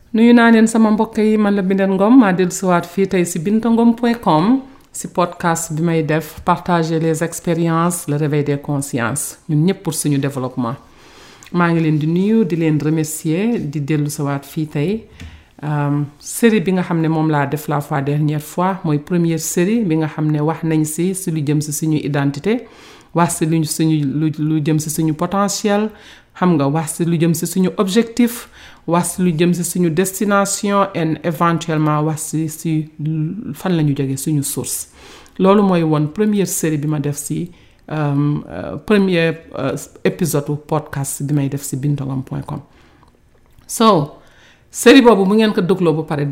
nuyu naa leen sama mbokk yi man la Binette Ngom maa dellusiwaat fii tey si bintangom.com si podcast bi may def partager les expériences le réveil des consciences ñun ñëpp pour suñu développement maa ngi leen di nuyu di leen remercier di dellusiwaat fii tey série bi nga xam ne moom laa def la dernière fois mooy première série bi nga xam ne wax nañ si lu jëm si suñu identité wax si lu jëm si suñu potentiel xam nga wax si lu jëm si suñu objectif wax si lu jëm si suñu destination et éventuellement wax si fan la ñu jógee suñu source loolu mooy woon première série bi ma def si premier épisode podcast bi may def si bintangom.com so série boobu bu ngeen ko dëgloo ba pare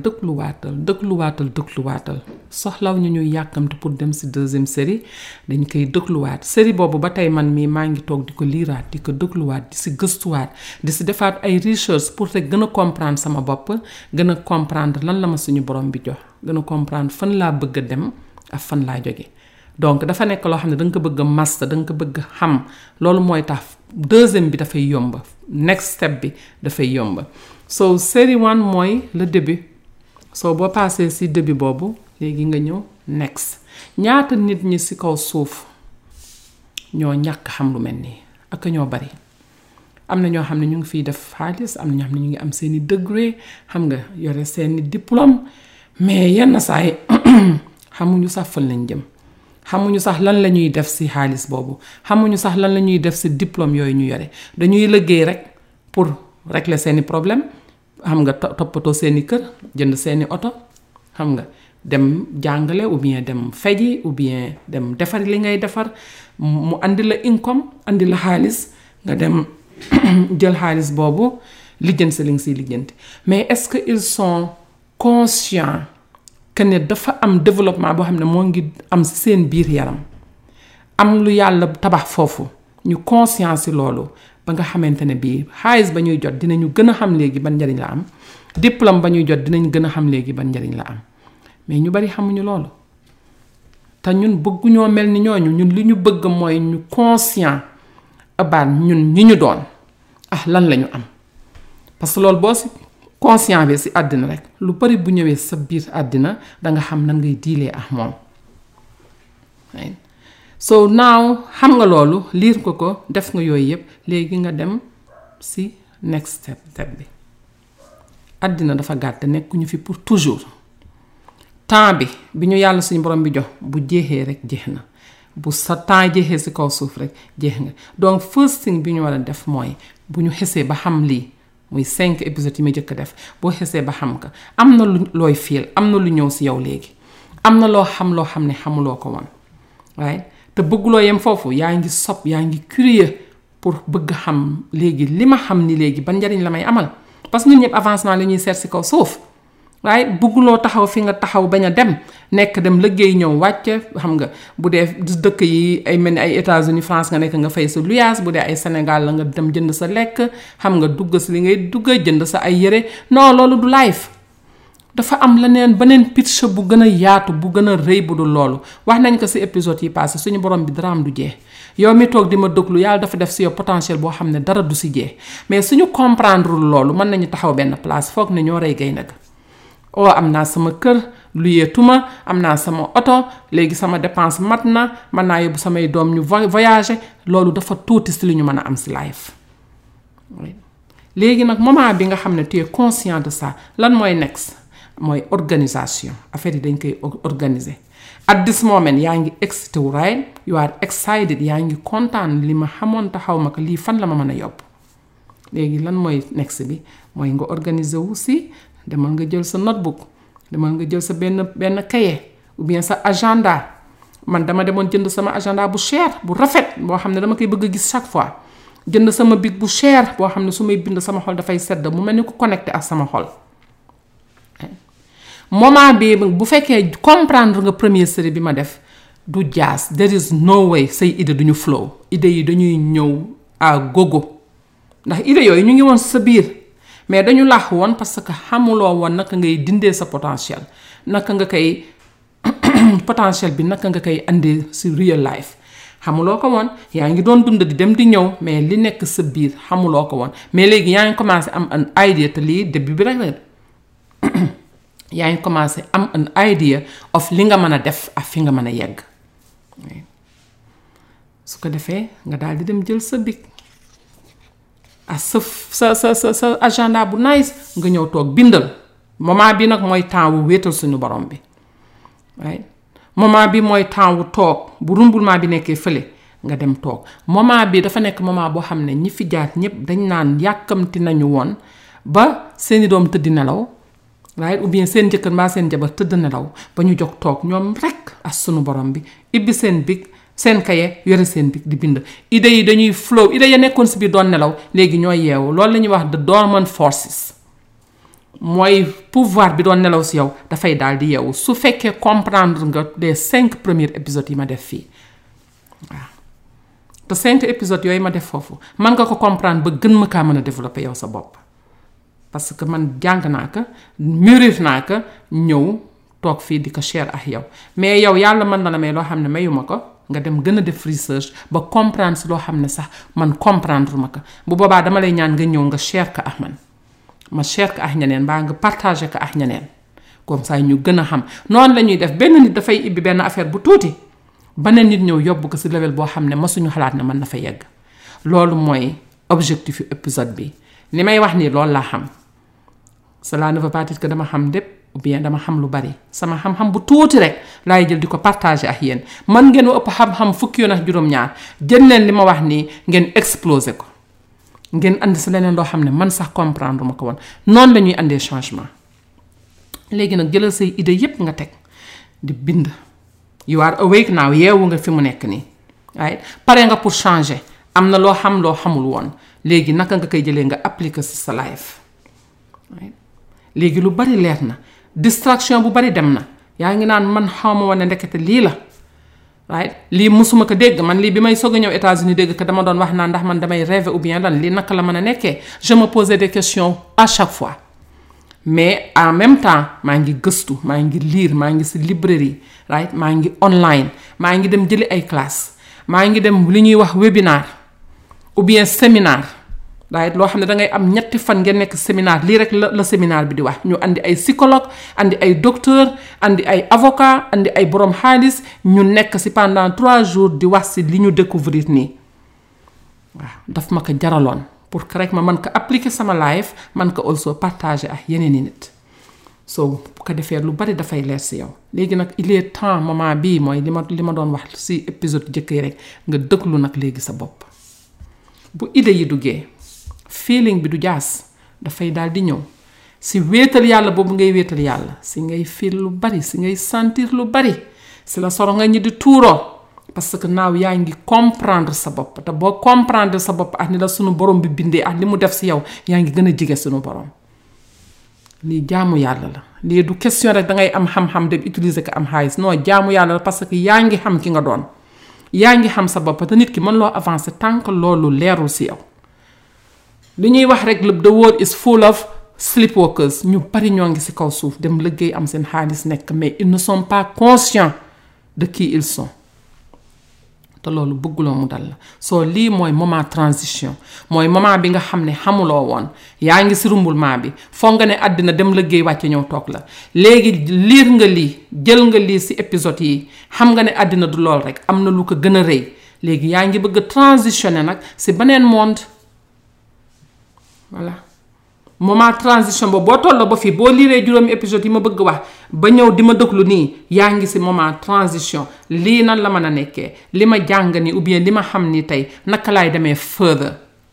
dëgluwaatal soxlaw ñu ñuy yàkkamte pour dem si deuxième série dañ koy dëgluwaat série boobu ba tey man mii maa ngi toog di ko liiraat di ko dëgluwaat di si gëstuwaat di si defaat ay recherche pour te gën a comprendre sama bopp gën a comprendre lan la ma suñu borom bi jox gën a comprendre fan laa bëgg a dem ak fan laa jóge donc dafa nekk loo xam ne da nga ko bëgg a master da nga ko bëgg a xam loolu mooy tax deuxième bi dafay yomb next step bi dafay yomb so série 1 mooy le début so boo passé si début boobu léegi nga ñëw next ñaata nit ñi si kaw suuf ñoo ñàkk xam lu mel nii ak ñoo bari am na ñoo xam ne ñu ngi fiy def xaalis am na ñoo xam ne ñu ngi am seeni degré xam nga yore seeni diplôme mais yenn saa yi xamuñu sax fan lañ jëm xamuñu sax lan la ñuy def si xaalis boobu xamuñu sax lan la ñuy def si diplôme yooyu ñu yore dañuy liggéey rek pour régler seeni problème xam nga toppatoo seeni kër jënd seeni oto xam nga dem jàngale ou bien dem feji ou bien dem defar li ngay defar mu andi la income andi la xaalis nga dem jël xaalis boobu lijjanti li nga siy lijjanti mais est-ce que ils sont conscients que ne dafa am développement boo xam ne moo ngi am si seen biir yaram am lu yàlla tabax foofu ñu conscience si loolu ba nga xamante ne bii xaalis ba ñuy jot dinañu gën a xam léegi ban njariñ la am diplôme ba ñuy jot dinañ gën a xam léegi ban njariñ la am mais ñu bari xamuñu loolu te ñun bëgguñoo mel ni ñooñu ñun li ñu bëgg mooy ñu conscient about ñun ñi ñu doon lan la ñu am parce que loolu boo si conscient bi si àddina rek lu bari bu ñëwee sa biir àddina danga xam nan ngay diilee ak moom so now xam nga loolu liir ko def nga yooyu yëpp léegi nga dem si next step bi àddina dafa gàtt nekkuñu fi pour toujours temps bi ñu yàlla suñu borom bi jox bu jeexee rek jeex na bu sa temps jeexee si kaw suuf rek jeex nga donc first thing bi ñu war a def mooy bu ñu xesee ba xam lii muy 5 épisodes yi ma jëkk def boo xesee ba xam ka am na lu looy fiil am na lu ñëw si yow léegi am na loo xam ne xamuloo ko woon waaye te bëgguloo yem foofu yaa ngi yaa ngi curieux pour bëgg xam léegi li ma xam ni léegi ban njariñ la may amal parce que ñun ñëpp avancement la ñuy seet si kaw suuf waaye bëgguloo taxaw fi nga taxaw bañ a dem liggéey ñëw wàcce xam nga bu dee dëkk yi ay mel ni ay États-Unis France nga nekk nga fay sa luyaas bu dee ay Sénégal la nga dem jënd sa lekk xam nga dugg si li ngay dugg jënd sa ay yére non loolu du life dafa am beneen picture bu gën a yaatu bu gën a rëy bu dul loolu wax nañ ko si épisode yi passé suñu borom bi dara am du jeex yow mi toog di ma déglu yàlla dafa def si yow potentiel boo xam ne dara du si jeex mais suñu comprendre loolu mën nañu taxaw benn place foog ne ñoo rey gay nag am naa sama kër luyeetuma am naa sama oto léegi sama dépense mat na mën naa yóbbu samay doom ñu voyager loolu dafa tuuti si li ñu mën a am si life léegi nag moment bi nga xam ne tu es conscient de ça lan mooy next mooy organisation affaire yi dañ koy organiser at this moment yaa ngi excité wu right you are excited yaa ngi kontaan li ma xamoon taxaw ma ko lii fan la ma mën a yóbbu léegi lan mooy next bi mooy nga organiser wu si demal nga jël sa notebook demal nga jël sa benn cahier ou bien sa agenda man dama demoon jënd sama agenda bu cher bu rafet boo xam ne dama koy bëgg a gis chaque fois jënd sama bic bu cher boo xam ne su may bind sama xol dafay sedd mu mel ni ko connecté ak sama xol moment bi bu fekkee comprendre nga première série bi ma def du jaas there is no way say idée duñu flow idée yi dañuy ñëw à gogo ndax idée yooyu ñu ngi woon sa biir mais dañu laax woon parce que xamuloo woon naka ngay dindee sa potentiel naka nga koy potentiel bi naka nga koy andee si real life xamuloo ko woon yaa ngi doon dund di dem di ñëw mais li nekk sa biir xamuloo ko woon mais léegi yaa ngi commencé am an idea te lii début bi rek la yaa ngi commencé am an idea of li nga mën a def ak fi nga mën a yegg. su ko defee nga daal di dem jël sa bic ak sa agenda bu nice nga ñëw toog bindal. moment bi nag mooy temps wu wéetal suñu borom bi. moment bi mooy temps wu toog bu rumbulement bi nekkee fële nga dem toog moment bi dafa nekk moment boo xam ne ñi fi jaar ñëpp dañ naan yàkkamti nañu woon ba seeni doom tëdd nelaw ou bien seen jëkkër mbaa seen jabar tëdd nelaw ba ñu jóg toog ñoom rek ak sunu borom bi ibbi seen bic seen kaye yore seen bic di bind. idées yi dañuy flow idées ya nekkoon si biir doon nelaw léegi ñooy yeewu loolu la ñuy wax the dormant forces. mooy pouvoir bi doon nelaw si yow dafay daal di yeewu su fekkee comprendre nga les 5 premiers épisodes yi ma def fii waaw te 5 épisodes yooyu ma def foofu man nga ko comprendre ba gën ma kaa mën a développer yow sa bopp. parce que man jàng naa ko mûrir naa ko ñëw toog fii di ko share ak yow mais yow yàlla mën na la may loo xam ne mayuma ko nga dem gën a def research ba comprendre si loo xam ne sax man comprendre ma ko bu boobaa dama lay ñaan nga ñëw nga share ko ak man. ma share ko ak ñeneen mbaa nga partager ko ak ñeneen comme ça ñu gën a xam noonu la ñuy def benn nit dafay ibbi benn affaire bu tuuti beneen nit ñëw yóbbu ko si level boo xam ne masuñu xalaat ne mën na fa yegg. loolu mooy objectif épisode bi li may wax nii loolu laa xam cela ne veut pas dire que dama xam lépp ou bien dama xam lu bari sama xam-xam bu tuuti rek laay jël di ko partager ak yéen man ngeen ëpp xam-xam fukki yoon ak juróom-ñaar jël leen li ma wax nii ngeen exploser ko. ngeen andi si leneen loo xam ne man sax comprendre ma ko woon noonu la ñuy andee changement. léegi nag jëlal say idée yépp nga teg di bind. you are awake now yeewu nga fi mu nekk nii waaye pare nga pour changer am na loo xam loo xamul woon léegi naka nga koy jëlee nga appliquer si sa life. léegi lu bari leer na distraction bu bari dem na yaa ngi naan man xawma woon ne ndekete lii la. lii musuma ko dégg man lii bi may soog a ñëw États-Unis dégg que dama doon wax naa ndax man damay rêver ou bien lan lii naka la mën a nekkee je me posais des questions à chaque fois mais en même temps maa ngi gëstu maa ngi lire maa ngi si librairie maa ngi online maa ngi dem jëli ay classe maa ngi dem li ñuy wax webinar ou bien séminaire loo xam ne da ngay am 3 fan ngeen nekk séminaire lii rek la séminaire bi di wax ñu andi ay psychologue andi ay docteur andi ay avocat andi ay borom xaalis ñu nekk si pendant 3 jours di wax si li ñu découvrir nii waaw daf ma ko jaraloon pour que rek ma mën ko appliquer sama life man ko also partager ak yeneen i nit so bu ko defee lu bari dafay leer si yow. léegi nag il est temps moment bii mooy li ma doon wax si épisode jëkk yi rek nga dëglu nag léegi sa bopp bu idée yi duggee. feeling bi du jaas dafay daal di ñëw si wéetal yàlla boobu ngay wéetal yàlla si ngay feel lu bari si ngay sentir lu bari si la soro nga ñi di tuuroo parce que naaw yaa ngi comprendre sa bopp te boo comprendre sa bopp ak ni la sunu borom bi bindee ak li mu def si yow yaa ngi gën a jege sunu borom. lii jaamu yàlla la lii du question rek dangay am xam-xam dem utiliser ko am xaalis non jaamu yàlla la parce que yaa ngi xam ki nga doon yaa ngi xam sa bopp te nit ki mën loo avancer tant que loolu leerul si yow. li ñuy wax rek the world is full of sleepwalkers ñu bari ñoo ngi ci kaw suuf dem liggéey am seen xaalis nekk mais ils ne sont pas conscients de qui ils sont te loolu bëgguloo mu dal la soo lii mooy moment transition mooy moment bi nga xam ne xamuloo woon yaa ngi ci rumbulement bi foog nga ne àddina dem liggéey wàcce ñëw toog la léegi liir nga lii jël nga lii ci épisode yi xam nga ne àddina du lool rek am na lu ko gën a rëy léegi yaa ngi bëgg a transitionner nag ci beneen monde. voilà moment transition boobu boo tolloo ba fii boo liiree juróomi épisode yi ma bëgg wax ba ñëw di ma déglu nii yaa ngi ci moment transition lii nan la mën a nekkee li ma jàng ni ou bien li ma xam ni tey naka laay demee further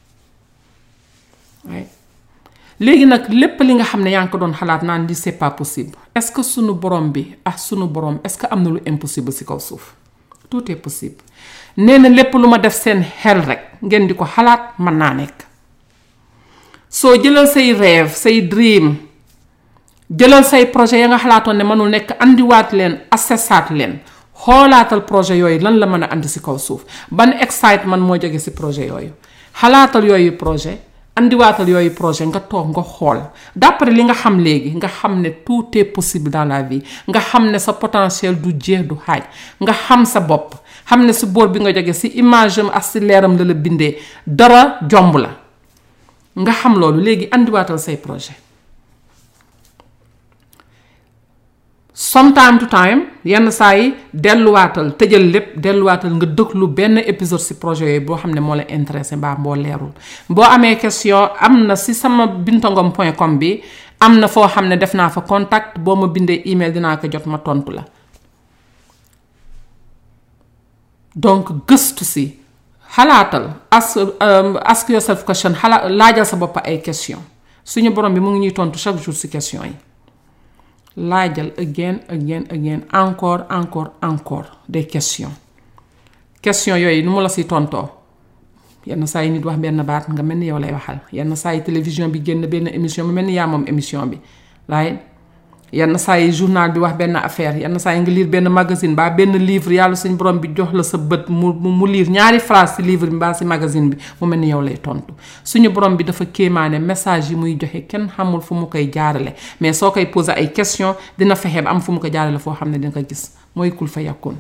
léegi nag lépp li nga xam ne yaa ngi ko doon xalaat naan li c'est pas possible est-ce que sunu borom bi ak sunu borom est-ce que am na lu impossible ci kaw suuf tout est possible nee na lépp lu ma def seen xel rek ngeen di ko xalaat mën naa nekk. soo jëlal say rêve say dream jëlal say projet ya nga xalaatoon ne mënul nekk andiwaat leen assessaat leen xoolaatal projet yooyu lan la mën a andi ci kaw suuf ban excitement moo jóge ci projet yooyu xalaatal yooyu projet andiwaatal yooyu projet nga toog nga xool d'après li nga xam léegi nga xam ne tout est possible dans la vie nga xam ne sa potentiel du jeex du xaaj nga xam sa bopp xam ne ci boor bi nga jóge ci image am ak ci leeram la bindee dara jomb la nga xam loolu léegi andiwaatal say projet sometime to time yenn saa yi delluwaatal tëjal lépp delluwaatal nga déglu benn épisode si projet yooyu boo xam ne moo la intéressé mbaa boo leerul boo amee question am na si sama bintangom.com bi am na foo xam ne def naa fa contact boo ma bindee email dinaa ko jot ma tontu la donc gëstu si xalaatal ask yourself question laajal sa bopp ay question suñu borom bi mu ngi ñuy tontu chaque jour si question yi laajal again encore des questions yooyu nu mu la si tontoo yenn saa yi nit wax benn baat nga mel ni yow lay waxal yenn saa yi télévision bi génn benn émission mu mel ni yaa moom émission bi waaye yenn saa yi journal bi wax benn affaire yenn saa yi nga lire benn magazine ba benn livre yàlla suñu borom bi jox la sa bët mu lire ñaari phrase ci livre bi mbaa ci magazine bi mu mel ni yow lay tontu suñu borom bi dafa kéemaane message yi muy joxe kenn xamul fu mu koy jaarale mais soo koy poser ay question dina fexe ba am fu mu ko jaarale foo xam ne dina ko gis mooy kul fa yàkkoon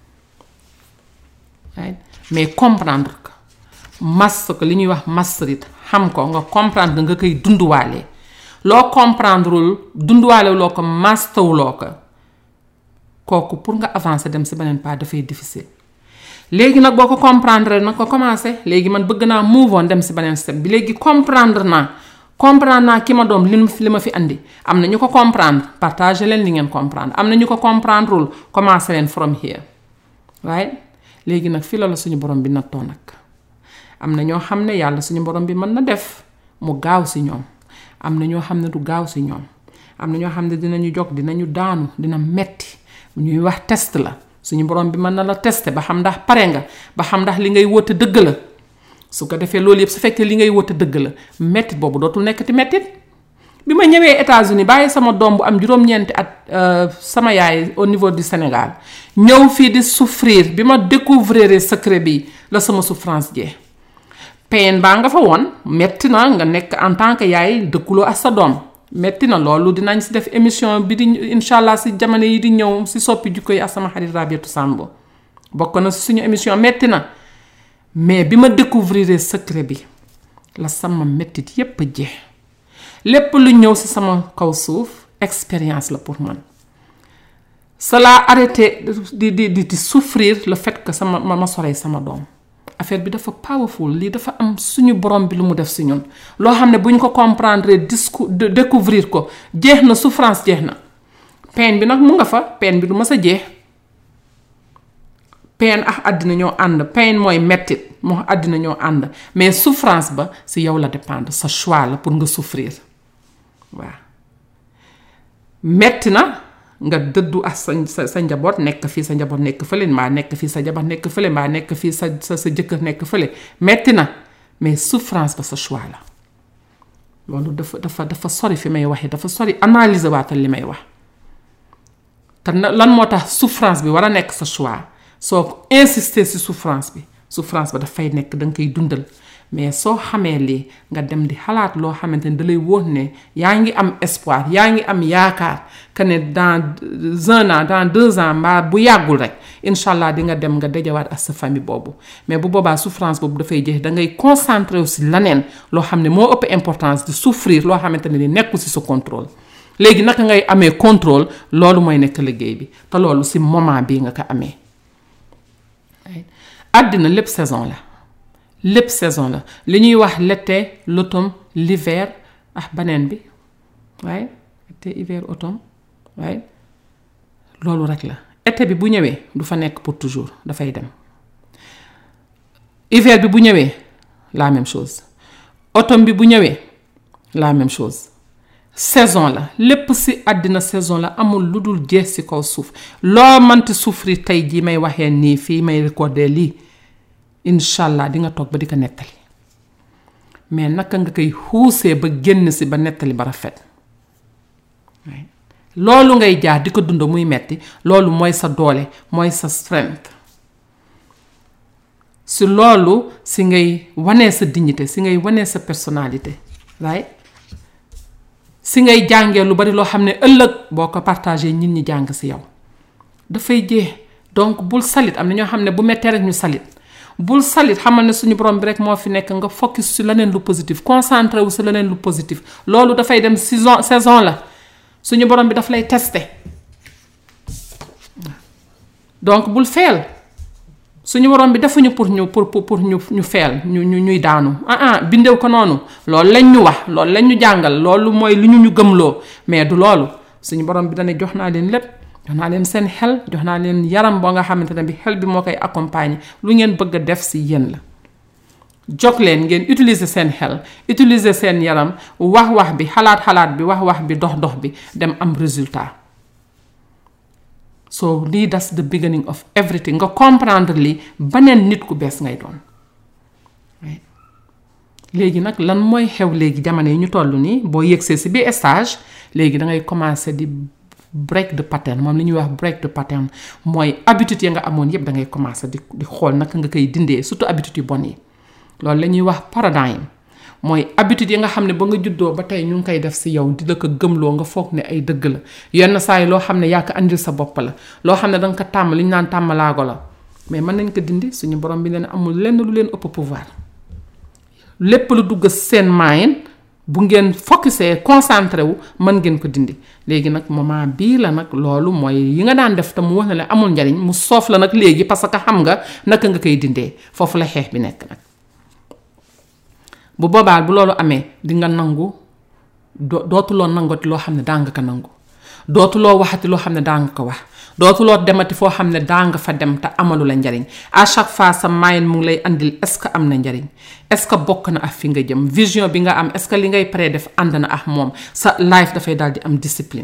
mais comprendre ko mas ko li ñuy wax masterit xam ko nga comprendre nga koy dunduwaale loo comprendreul dunduwaale loo ko mastawuloo ko kooku pour nga avancer dem si beneen pas dafay difficile léegi nag boo ko comprendre nag ko commencé léegi man bëgg naa move on dem si beneen step bi léegi comprendre naa ki ma doom li ma fi andi am na ñu ko comprendre partager leen li ngeen comprendre am na ñu ko comprendreul commencé leen from here right léegi nag fii la suñu borom bi nattoo nag am na ñoo xam ne yàlla suñu borom bi mën na def mu gaaw si ñoom am na ñoo xam ne du gaaw si ñoom am na ñoo xam ne dinañu jóg dinañu daanu dina metti ñuy wax test la suñu borom bi mën na la tester ba xam ndax pare nga ba xam ndax li ngay woote dëgg la su ko defee loolu yëpp su fekkee li ngay woote dëgg la mettit boobu dootul nekkati mettit bi ma ñëwee États-Unis bàyyi sama doom bu am juróom-ñeenti at sama yaay au niveau du Sénégal ñëw fii di souffrir bi ma découvrir secret bi la sama souffrance jee pain baa nga fa woon metti na nga nekk en tant que yaay dëkkuloo ak sa doom metti na loolu dinañ si def émission bi di incha allah si jamono yi di ñëw si soppi jikko yi ak sama xarit Rabiatou Sambo bokk na si suñu émission metti na mais bi ma découvrir secret bi la sama mettit yépp jeex lépp lu ñëw si sama kaw suuf expérience la pour man cela arrêté di souffrir le fait que ma sorey sama doom affaire bi dafa powerful lii dafa am suñu borom bi lu mu def si ñun loo xam ne bu ñu ko comprendre découvrir ko jeex na souffrance jeex na pain bi nag mu nga fa pain bi du mës a jeex pain ak àddina ñoo ànd pain mooy mettit moo àddina ñoo ànd mais souffrance ba si yow la dépendre sa choix la pour nga souffrir waaw metti na nga dëddu ak sa njaboot nekk fii sa njaboot nekk fële mbaa nekk fii sa jabar nekk fële mbaa nekk fii sa jëkkër nekk fële metti na mais souffrance ba sa choix la loolu dafa sori fi may waxee dafa sori analyser waatal li may wax te lan moo tax souffrance bi war a nekk sa choix soo insister si souffrance ba dafay nekk danga koy dundal mais soo xamee lii nga dem di xalaat loo xamante ne da lay wóor ne yaa ngi am espoir yaa ngi am yaakaar que ne dans 1 an dans 2 ans mbaa bu yàggul rek incha allah di nga dem nga dajawaat ak sa famille boobu mais bu boobaa souffrance boobu dafay jeex da ngay concentré aussi laneen loo xam ne moo ëpp importance di souffrir loo xamante ne ni nekkul si sa contrôle léegi naka ngay amee contrôle loolu mooy nekk liggéey bi te loolu si moment bii nga ko amee àddina lépp saison la li ñuy wax l'été l'automne l'hiver ak baneen bi waaye été hiver automne waaye loolu rek la été bi bu ñëwee du fa nekk pour toujours dafay dem hiver bi bu ñëwee la même chose automne bi bu ñëwee la même chose saison la lépp ci àddina saison la amul lu dul jeex ci kaw suuf loo mënti souffrir tey jii may waxee nii fii may recorder lii inshallah di nga toog ba di ko nettali mais naka nga koy xuusee ba génn ci ba nettali ba rafet loolu ngay jaar di ko dund muy metti loolu mooy sa doole mooy sa strength si loolu si ngay wanee sa dignité si ngay wanee sa personnalité right si ngay jàngee lu bari loo xam ne ëllëg boo ko partagé nit ñi jàng si yow dafay jeex donc bul salit am na ñoo xam ne bu mettee rek ñu salit bul salit xamal ne suñu borom bi rek moo fi nekk nga focus si leneen lu positif concentré wu si leneen lu positif loolu dafay dem saison la suñu borom bi daf lay testé donc bul feel suñu borom bi defuñu pour ñu feel ñuy daanu bindew ko noonu loolu lañ ñu wax loolu lañ ñu jàngal loolu mooy lu ñu gëmloo mais du loolu suñu borom bi dana jox naa leen lépp jox naa leen seen xel jox naa leen yaram boo nga xamante ne bi xel bi moo koy accompagner lu ngeen bëgg a def si yéen la jog leen ngeen utiliser seen xel utiliser seen yaram wax bi xalaat bi wax bi dox bi dem am résultat so lii that's the beginning of everything nga comprendre li beneen nit ku bees ngay doon léegi nag lan mooy xew léegi jamono yi ñu toll nii boo yëgsee si biir stage léegi da ngay commencer di break the pattern moom li ñuy wax break the pattern mooy habitude ya nga amoon yépp da ngay commencer di xool naka nga koy dindee surtout habitude yu bon yi loolu la ñuy wax paradigme mooy habitude yi nga xam ne ba nga juddoo ba tey ñu ngi koy def si yow di la ko gëmloo nga foog ne ay dëgg la yenn saa yi loo xam ne yaa ko andil sa bopp la loo xam ne da nga ko tàmm li ñu naan tàmmalaago la mais mën nañ ko dindi suñu borom bi leen amul lenn lu leen ëpp pouvoir lépp lu dugg seen mind bu ngeen focusé concentré wu mën ngeen ko dindi léegi nag moment bii la nag loolu mooy yi nga daan def te mu wax ne la amul njariñ mu soof la nag léegi parce que xam nga naka nga koy dindee foofu la xeex bi nekk nag bu boobaa bu loolu amee di nga nangu dootuloo nangoti loo xam ne daa nga ko nangu dootuloo waxati loo xam ne daa nga ko wax dootuloo demati foo xam ne daa nga fa dem te amalu la njariñ à chaque fois sa mind mu ngi lay andil est-ce que am na njariñ est-ce que bokk na ak fi nga jëm vision bi nga am est-ce que li ngay pré def ànd na ak moom sa life dafay daal di am discipline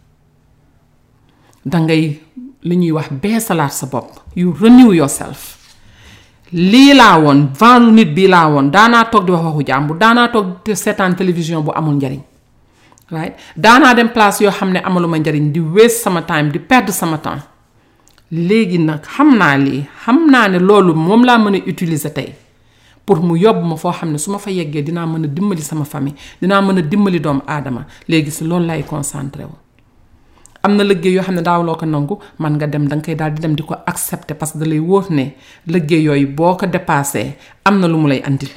dangay li ñuy wax beesalaat sa bopp you renew yourself lii laa woon vendu nit bii laa woon daanaa toog di wax waxu jàmbur daanaa toog di seetaan télévision bu amul njariñ right daanaa dem place yoo xam ne amaluma njariñ di waste sama time di perdre sama temps léegi nag xam naa lii xam naa ne loolu moom laa mën a utiliser tey pour mu yóbbu ma foo xam ne su ma fa yeggee dinaa mën a dimbali sama famille dinaa mën a dimbali doomu aadama léegi si loolu lay concentré wu am na liggéey yoo xam ne daawloo ko nangu man nga dem danga koy daal di dem di ko accepter parce que da lay wóor ne liggéey yooyu boo ko dépassé am na lu mu lay andil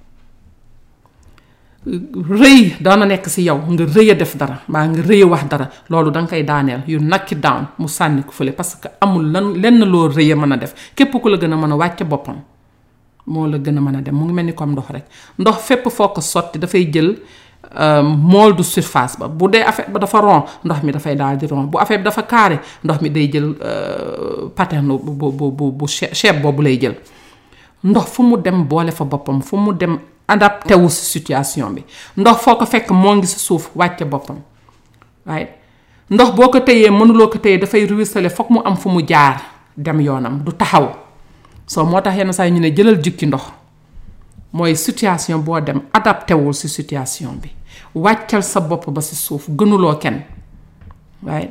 rëy daana nekk si yow nga rëy a def dara mbaa nga rëy a wax dara loolu danga koy daaneel yu knock it down mu sànni ko fële parce que amul lenn loo rëy a mën a def képp ku la gën a mën a wàcce boppam moo la gën a mën a dem mu ngi mel ni comme ndox rek ndox fépp foo ko sotti dafay jël mool du surface ba bu dee affaire ba dafa rond ndox mi dafay daal di rond bu affaire bi dafa carré ndox mi day jël pattern bu shape boobu lay jël ndox fu mu dem boole fa boppam fu mu dem adapté wu si situation bi ndox foo ko fekk moo ngi si suuf wàcce boppam waaye ndox boo ko téyee mënuloo ko téyee dafay ruisselé foog mu am fu mu jaar dem yoonam du taxaw soo moo tax yenn saa yi ñu ne jëlal jukki ndox mooy situation boo dem adapté wul si situation bi wàccal sa bopp ba si suuf gënuloo kenn waaye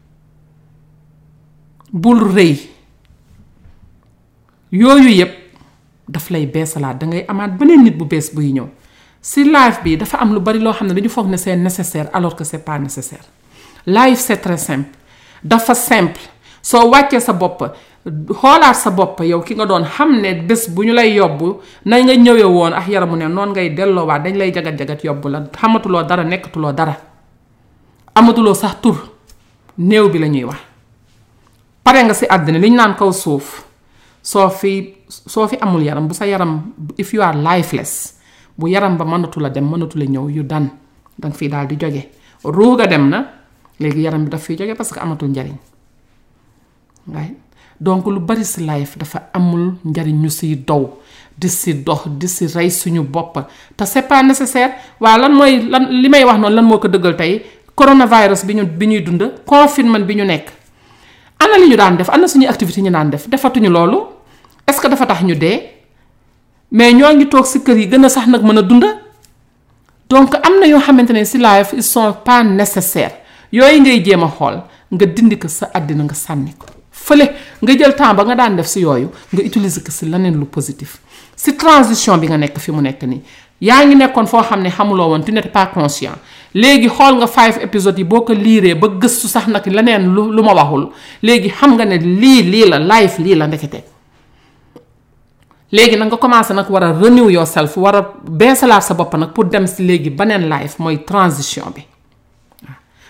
bul rëy yooyu yépp daf lay beesalaat dangay amaat beneen nit bu bees buy ñëw si life bi dafa am lu bari loo xam ne dañu foog ne c'est nécessaire alors que c'est pas nécessaire life c'est très simple dafa simple soo wàccee sa bopp xoolaat sa bopp yow ki nga doon xam ne bés bu ñu lay yóbbu na nga ñëwee woon ak yaramu ne noonu ngay delloowaat dañ lay jagat-jagat yóbbu la xamatuloo dara nekkatuloo dara amatuloo sax tur néew bi la ñuy wax pare nga si àddina li ñu naan kaw suuf soo fi amul yaram bu sa yaram if you are lifeless bu yaram ba mënatu la dem mënatu la ñëw yu danga fii daal di jóge ruuga dem na léegi yaram bi daf fiy jóge parce que amatul njariñ waaye donc lu bari si life dafa amul njariñ ñu siy dow di si dox di si rey suñu bopp te c'est pas nécessaire waa lan mooy lan li may wax noonu lan moo ko dëggal tey coronavirus bi ñuy dund confinement bi ñu nekk ana li ñu daan def ana suñuy activité ñu daan def defatuñu loolu est-ce que dafa tax ñu dee mais ñoo ngi toog si kër yi gën a sax nag mën a dund donc am na yoo xamante ne si life ils sont pas nécessaires yooyu ngay jéem a xool nga dindi ko sa àddina nga sànni ko fële nga jël temps ba nga daan def si yooyu nga utiliser ko si leneen lu positif si transition bi nga nekk fi mu nekk nii yaa ngi nekkoon foo xam ne xamuloo woon tu n'étais pas conscient léegi xool nga 5 épisodes yi boo ko liiree ba gëstu sax nag leneen lu ma waxul léegi xam nga ne lii la life lii la ndekete léegi nag nga commencé nag war a renew yourself war a beesalaat sa bopp nag pour dem si léegi beneen life mooy transition bi waaw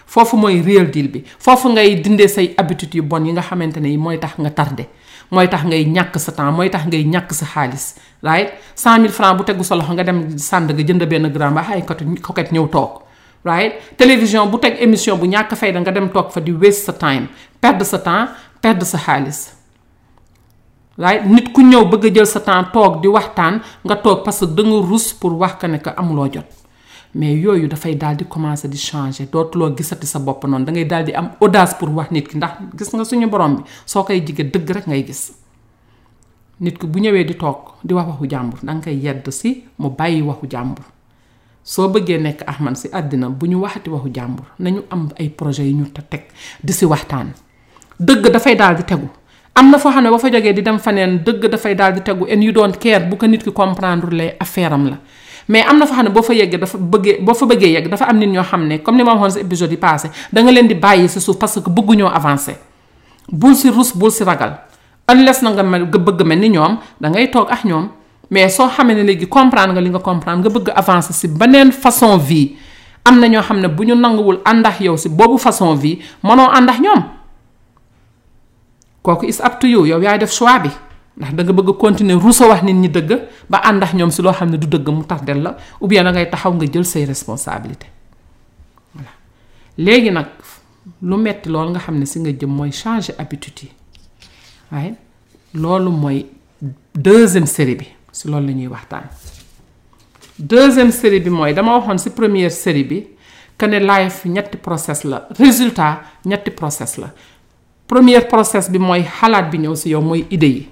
foofu mooy real deal bi foofu ngay dindee say habitude yu bon yi nga xamante ne yi mooy tax nga tardé mooy tax ngay ñàkk sa temps mooy tax ngay ñàkk sa xaalis right 100,000 francs bu tegu sa loxo nga dem sànd nga jënd benn grand ba ay coquette ñëw toog right télévision bu teg émission bu ñàkk fayda nga dem toog fa di waste sa time perdre sa temps perdre sa xaalis right nit ku ñëw bëgg a jël sa temps toog di waxtaan nga toog parce que da nga rus pour wax ka ne que amuloo jot mais yooyu dafay daal di commencer di changer dootuloo gisati sa bopp noonu da ngay daal di am audace pour wax nit ki ndax gis nga suñu borom bi soo koy jige dëgg rek ngay gis nit ki bu ñëwee di toog di wax waxu jàmbur da nga koy yedd si mu bàyyi waxu jàmbur soo bëggee nekk Ahmed si àddina bu ñu waxati waxu jàmbur nañu am ay projets yu ñu teg di si waxtaan dëgg dafay daal di tegu am na foo xam ne ba fa jógee di dem faneen dëgg dafay daal di tegu and you don't care bu ko nit ki comprendre lay affaire am la mais am na fa xam ne boo fa yeggee boo fa bëggee yegg dafa am nit ñoo xam ne comme ni ma waxoon si épisode yi passé da nga leen di bàyyi si suuf parce que bëgguñoo avancer bul si rus bul si ragal unless na nga bëgg mel ni ñoom da ngay toog ak ñoom mais soo xamee ne léegi comprendre nga li nga comprendre nga bëgg avancer si beneen façon vie am na ñoo xam ne bu ñu nanguwul àndax yow si boobu façon vie mënoo àndax ñoom kooku is up to you yow yaay def choix bi ndax da nga bëgg continuer ruusa wax nit ñi dëgg ba àndax ñoom si loo xam ne du dëgg mu tax del la ou bien da ngay taxaw nga jël say responsabilité voilà léegi nag lu metti loolu nga xam ne si nga jëm mooy changer habitude yi waaye loolu mooy deuxième série bi si loolu la ñuy waxtaan deuxième série bi mooy dama waxoon si première série bi que ne life ñetti process la résultat ñetti process la premier process bi mooy xalaat bi ñëw si yow mooy idée yi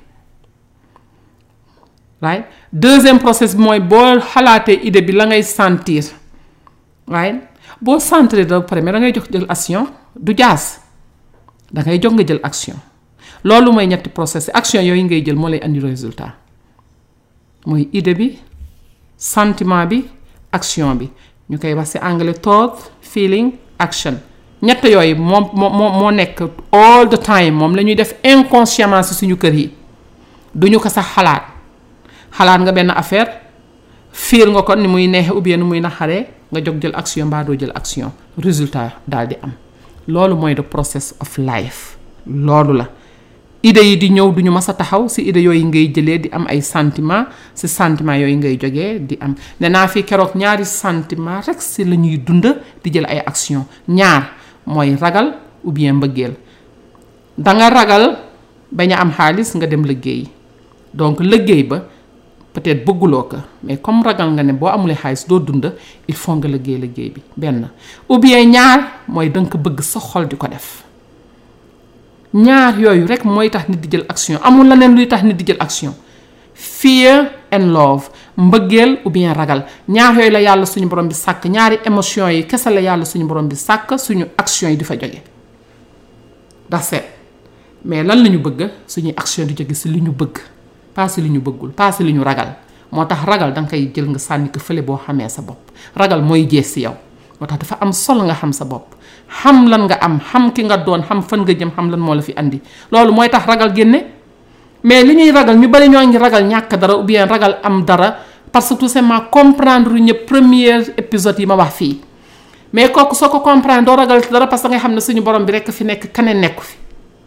right deuxième process bi mooy boo xalaatee idée bi la ngay sentir right boo sentir da pare mais da ngay jox jël action du jaas da ngay jox nga jël action loolu mooy ñetti process action yooyu ngay jël moo lay andi résultat mooy idée bi sentiment bi action bi ñu koy wax ci anglais thought feeling action ñett yooyu moo nekk all the time moom la ñuy def inconsciemment ci suñu kër yi duñu ko sax xalaat nga benn affaire fiir nga ko ni muy neexe ou bien ni muy naxaree nga jóg jël action mbaa doo jël action résultat daal di am loolu mooy the process of life loolu la idée yi di ñëw duñu mas a taxaw ci idée yooyu ngay jëlee di am ay sentiment ci sentiment yooyu ngay jógee di am ne naa fi keroog ñaari sentiment rek ci la ñuy dund di jël ay action ñaar mooy ragal ou bien mbëggeel danga ragal bañ a am xaalis nga dem liggéey donc liggéey ba peut-être bëgguloo ko mais comme ragal nga ne boo amulee xaalis doo dund il faut nga liggéey bi benn ou bien ñaar mooy danga ko bëgg sa xol di ko def ñaar yooyu rek mooy tax nit di jël action amul leneen luy tax nit di jël action fear and love mbëggeel ou bien ragal ñaar yooyu la yàlla suñu borom bi sàkk ñaari émotion yi kese la yàlla suñu borom bi sàkk suñu action yi di fa jóge that's it mais lan la ñu bëgg suñuy action di jóge si li ñu bëgg pas si li ñu bëggul pas si li ñu ragal moo tax ragal danga koy jël nga sànni ko fële boo xamee sa bopp ragal mooy jees si yow moo tax dafa am solo nga xam sa bopp xam lan nga am xam ki nga doon xam fan nga jëm xam lan moo la fi andi loolu mooy tax ragal génne mais li ñuy ragal ñu bari ñoo ngi ragal ñàkk dara ou bien ragal am dara parce que tout simplement comprendre ñëpp premier épisode yi ma wax fii mais kooku soo ko comprendre doo ragal dara parce que nga xam ne suñu borom bi rekk fi nekk keneen nekku fi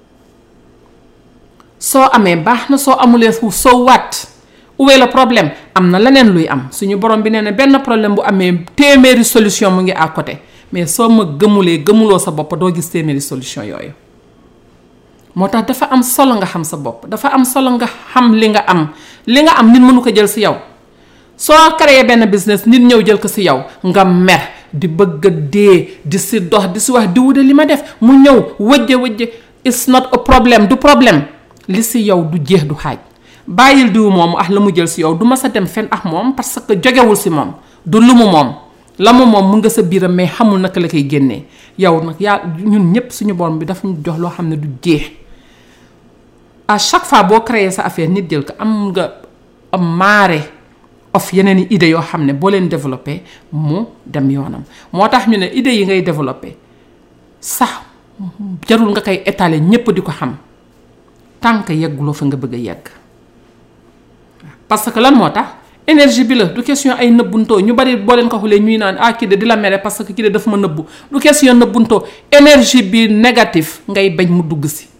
soo amee baax na soo amulee soo waat où est le problème am na leneen luy am suñu borom bi nee na benn problème bu amee téeméeri solution mu ngi à côté mais soo ma gëmuloo sa bopp doo gis téeméeri solution yooyu moo tax dafa am solo nga xam sa bopp dafa am solo nga xam li nga am nit mënu ko jël si yow soo créé benn business nit ñëw jël ko si yow nga mer di bëgg a dee di si dox di si wax di wude li ma def mu ñëw wëjje it's not a problem du problème li si yow du jeex du xaaj bàyyil diwu moom la mu jël si yow du ma sa dem fen moom parce que jógewul si moom du lu mu moom la mu moom mu nga sa biiram mais xamul naka la koy génnee yow nag yaa ñun ñëpp suñu borom bi dafa ñu jox loo xam ne du jeex à chaque fois boo créé sa affaire nit jël ko am nga am maare of yeneen i idées yoo xam ne boo leen développé mu dem yoonam moo tax ñu ne idées yi ngay développé sax jarul nga koy étaler ñëpp di ko xam tant que yegguloo fa nga bëgg a yegg parce que lan moo tax énergie bi la du question ay nëbbuntoo ñu bari boo leen ko xoolee ñuy naan kii de di la mere parce que kii de daf ma nëbbu du question nëbbuntoo énergie bi négatif ngay bañ mu dugg si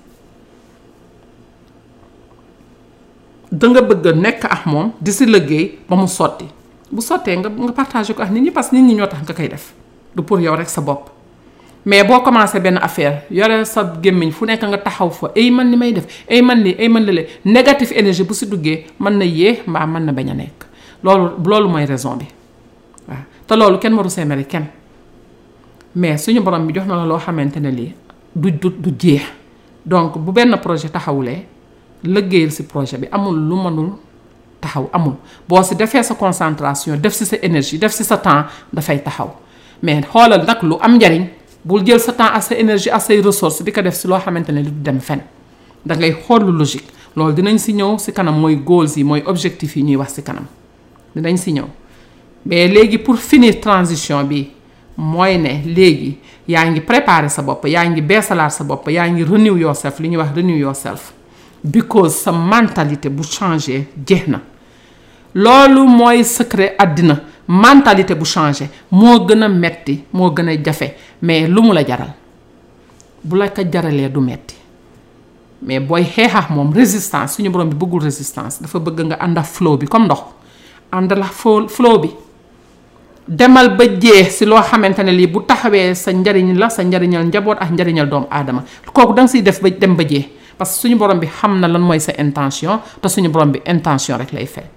da nga bëgg a nekk ak moom di si liggéey ba mu sotti bu sottee nga partagé ko ak nit ñi parce que nit ñi ñoo tax nga koy def du pour yow rek sa bopp mais boo commencé benn affaire yore sa gémmiñ fu nekk nga taxaw fa ay man li may def ay man li ay man lële négatif énergie bu si duggee mën na yee mbaa mën na bañ a nekk loolu mooy raison bi waaw te loolu kenn waru see mere kenn mais suñu borom bi jox na la loo xamante ne lii du jeex donc bu benn projet taxawulee liggéeyal si projet bi amul lu mënul taxaw amul boo si defee sa concentration def si sa énergie def si sa temps dafay taxaw mais xoolal nag lu am njariñ bul jël sa temps ak sa énergie ak say ressources di ko def si loo xamante ne du dem fen da ngay xool lu logique loolu dinañ si ñëw si kanam mooy goals yi mooy objectifs yi ñuy wax si kanam dinañ si ñëw mais léegi pour finir transition bi mooy ne léegi yaa ngi préparer sa bopp yaa ngi beesalaat sa bopp yaa ngi renew yourself li ñuy wax renew yourself because sa mentalité bu changé jeex na loolu mooy secret àddina mentalité bu changé moo gën a metti moo gën a jafe mais lu mu la jaral bu la ko jaralee du metti mais booy xeexax moom résistance suñu borom bi bëggul résistance dafa bëgg nga ànd ak flow bi comme ndox ànd la flow bi demal ba jeex si loo xamante ne lii bu taxawee sa njariñ la sa njariñal njaboot ak njariñal doomu aadama kooku danga siy def ba dem ba jeex parce que suñu borom bi xam na lan mooy sa intention te suñu borom bi intention rek lay fay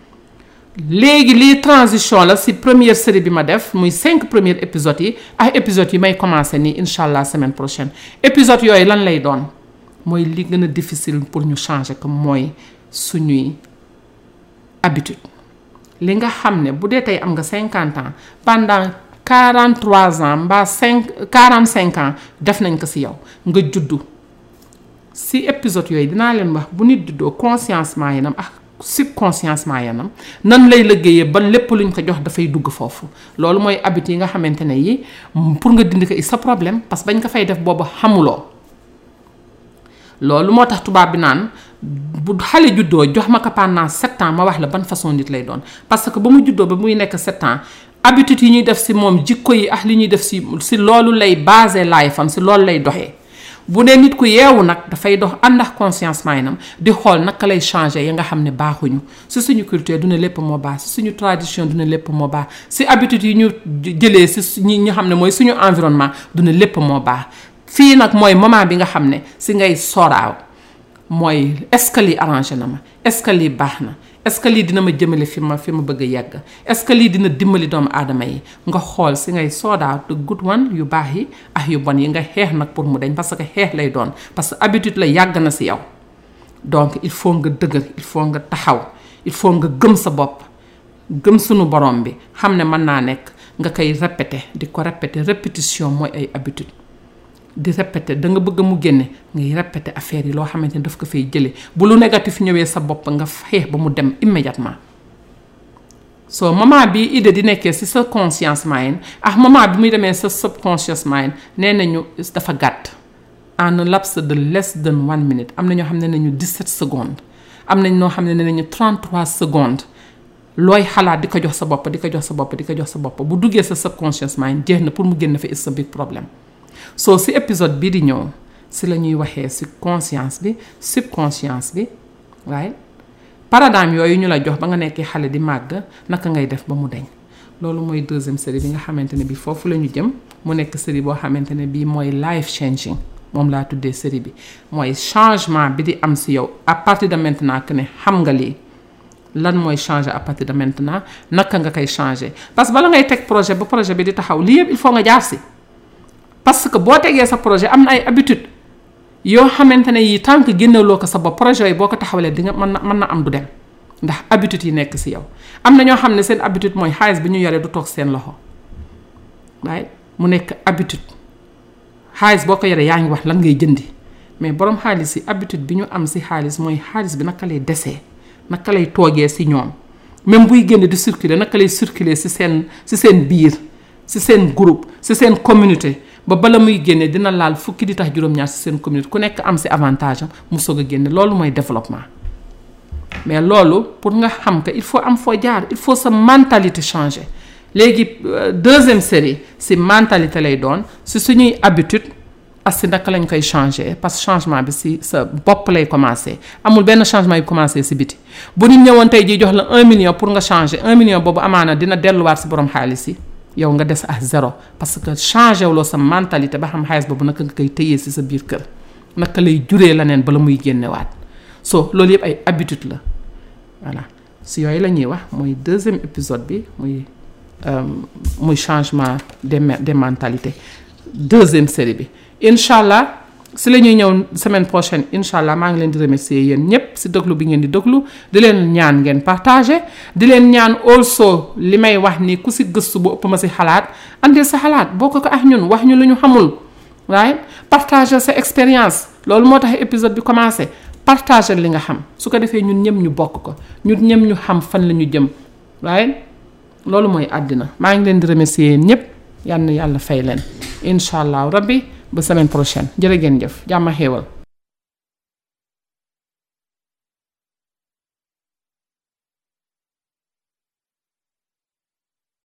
léegi lii transition la si première série bi ma def muy 5 premiers épisodes yi ak épisodes yi may commencer nii incha allah semaine prochaine épisodes yooyu lan lay doon mooy li gën a difficile pour ñu changer ko mooy suñuy habitude li nga xam ne bu dee tey am nga 50 ans pendant 43 ans mbaa 45 ans def nañ ko si yow nga juddu si épisode yooyu dinaa leen wax bu nit juddoo consciencement yanam ak subconsciencement yanam nan lay liggéeyee ba lépp luñ ko jox dafay dugg foofu loolu mooy habitude yi nga xamante ne yi pour nga dindi ko sa problème parce que bañ ko fay def boobu xamuloo loolu moo tax tubaab bi naan bu xale juddoo jox ma ko pendant 7 ans ma wax la ban façon nit lay doon parce que ba mu juddoo ba muy nekk 7 ans habitude yi ñuy def si moom jikko yi ak li ñuy def si loolu lay basé life am si loolu lay doxee bu dee nit ku yeewu nag dafay dox ànd ak conscience maynam di xool naka lay changer yi nga xam ne baaxuñu si suñu culture du ne lépp moo baax si suñu tradition du ne lépp moo baax si habitude yi ñu jëlee si ñi nga xam ne mooy suñu environnement du ne lépp moo baax fii nag mooy moment bi nga xam ne si ngay soraaw mooy est-ce que lii arrangé na ma est-ce que lii baax na est-ce que lii dina ma jëmale fi ma bëgg a yegg est-ce que lii dina dimbali doomu aadama yi nga xool si ngay soodaaw the good one yu baax yi ak yu bon yi nga xeex nag pour mu dañ parce que xeex lay doon parce que habitude la yàgg na si yow donc il faut nga dëgër il faut nga taxaw il faut nga gëm sa bopp gëm sunu borom bi xam ne mën naa nekk nga koy répéter di ko répéter répétition mooy ay habitude di répéter da nga bëgg mu génne ngay répéter affaire yi loo xamante ne daf ko fay jëlee bu lu négatif ñëwee sa bopp nga xeex ba mu dem immédiatement so moment bi idée di nekkee si sa conscience mind ak moment bi muy demee sa subconscious mind nee nañu dafa gàtt en un laps de less than 1 minute am na ñoo xam ne nañu 17 secondes am nañ ñoo xam ne nañu 33 secondes looy xalaat di ko jox sa bopp di ko jox sa bopp di ko jox sa bopp bu duggee sa subconscious mind jeex na pour mu génn fa is a big problème so si épisode bii di ñëw si la ñuy waxee si conscience bi subconscience bi waaye paradigme yooyu ñu la jox ba nga nekkee xale di màgg naka ngay def ba mu deñ loolu mooy deuxième série bi nga xamante ne bi foofu la ñu jëm mu nekk série boo xamante ne bii mooy life changing moom laa tuddee série bi mooy changement bi di am si yow à partir de maintenant que ne xam nga lii lan mooy changer à partir de maintenant naka nga koy changer parce que bala ngay teg projet ba projet bi di taxaw lii yëpp il faut nga jaar si parce que boo tegee sa projet am na ay habitude yoo xamante ne yi tant que génneloo ko sa bopp projet yi boo ko taxawalee di nga mën na am du dem ndax habitude yi nekk si yow am na ñoo xam ne seen habitude mooy xaalis bi ñu yoree du toog seen loxo waaye mu nekk habitude xaalis boo ko yoree yaa ngi wax lan ngay jëndi mais borom xaalis yi habitude bi ñu am si xaalis mooy xaalis bi naka lay desee naka lay toogee si ñoom même buy génn di circuler naka lay circuler si seen biir si seen groupe si seen communauté ba bala muy génne dina laal fukki di tax juróom-ñaar si seen communauté ku nekk am si avantage am mu soog a génne loolu mooy développement mais loolu pour nga xam que il faut am foo jaar il faut sa mentalité changer léegi deuxième série si mentalité lay doon si suñuy habitude ak si naka lañ koy changer parce que changement bi si sa bopp lay commencer amul benn changement yu commencer si biti bu nit ñëwoon tey jii jox la 1 million pour nga changer 1 million boobu amaana dina delluwaat si borom xaalis yi yow nga des à zéro parce que changer wuloo sa mentalité ba xam xaalis boobu naka nga koy téyee si sa biir kër naka lay juree leneen bala muy génnewaat so loolu yëpp ay habitude la voilà si yooyu la ñuy wax mooy deuxième épisode bi muy changement des mentalités deuxième série bi incha allah si la ñuy ñëw semaine prochaine incha allah maa ngi leen di remercier yéen ñëpp si déglu bi ngeen di déglu di leen ñaan ngeen partager di leen ñaan also li may wax ni ku si gëstu bu ëpp ma si xalaat andil sa xalaat bokk ko ak ñun wax ñu lu ñu xamul right partager sa expérience loolu moo tax épisode bi commencé partager li nga xam su ko defee ñun ñëpp ñu bokk ko ñun ñëpp ñu xam fan la ñu jëm right loolu mooy àddina maa ngi leen di remercier yéen ñëpp yal na yàlla fay leen incha allah rabbi ba semaine prochaine jërë ngeen jëf jàmm xéewal